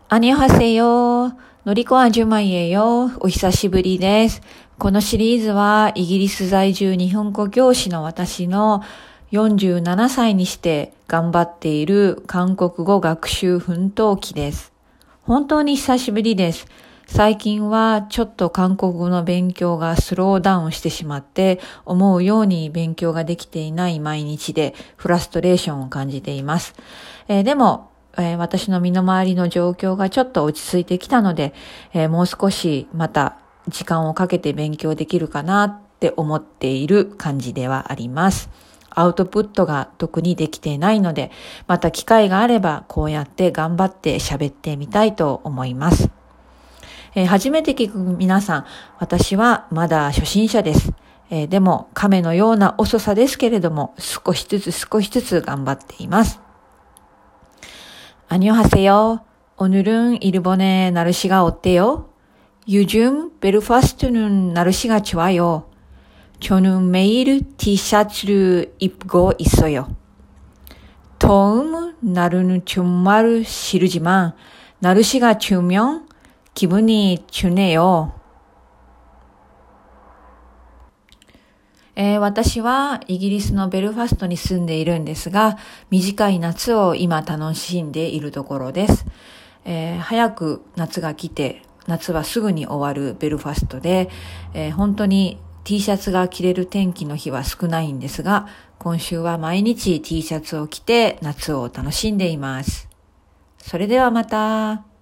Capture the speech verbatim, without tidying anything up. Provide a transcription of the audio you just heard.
アニョハセヨ。のりこあじゅまいえよ。お久しぶりです。このシリーズはイギリス在住日本語教師の私のよんじゅうななさいにして頑張っている韓国語学習奮闘記です。本当に久しぶりです。最近はちょっと韓国語の勉強がスローダウンしてしまって思うように勉強ができていない毎日でフラストレーションを感じています。えー、でもえー、私の身の回りの状況がちょっと落ち着いてきたので、えー、もう少しまた時間をかけて勉強できるかなって思っている感じではあります。アウトプットが特にできていないので、また機会があればこうやって頑張って喋ってみたいと思います。えー、初めて聞く皆さん、私はまだ初心者です。えー、でも亀のような遅さですけれども、少しずつ少しずつ頑張っています。안녕하세요. 오늘은 일본의 날씨가 어때요? 요즘 벨파스트는 날씨가 좋아요. 저는 매일 티셔츠를 입고 있어요. 더운 날은 정말 싫지만 날씨가 좋으면 기분이 좋네요. えー、私はイギリスのベルファストに住んでいるんですが、短い夏を今楽しんでいるところです。えー、早く夏が来て、夏はすぐに終わるベルファストで、えー、本当に T シャツが着れる天気の日は少ないんですが、今週は毎日 T シャツを着て夏を楽しんでいます。それではまた。